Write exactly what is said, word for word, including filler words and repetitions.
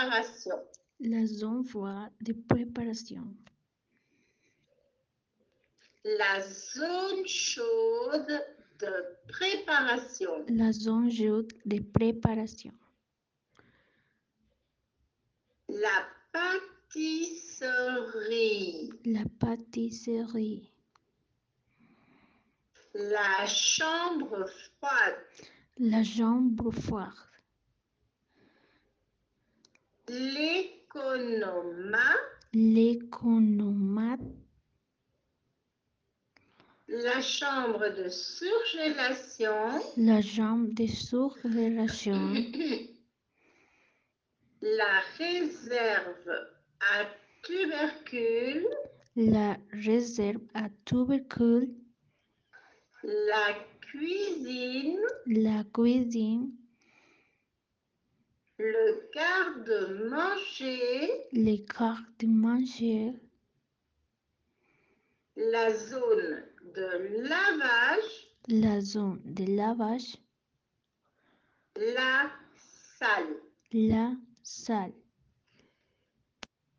préparation. La zone froide de préparation. La zone chaude de préparation. La zone chaude de préparation. La pâtisserie. La pâtisserie. La chambre froide. La chambre froide. L'économat. L'économat. La chambre de surgélation. La chambre de surgélation. La réserve à tubercules. La réserve à tubercules. La cuisine. La cuisine. Le garde-manger. Les garde-manger. La zone de lavage. La zone de lavage. La salle. La salle.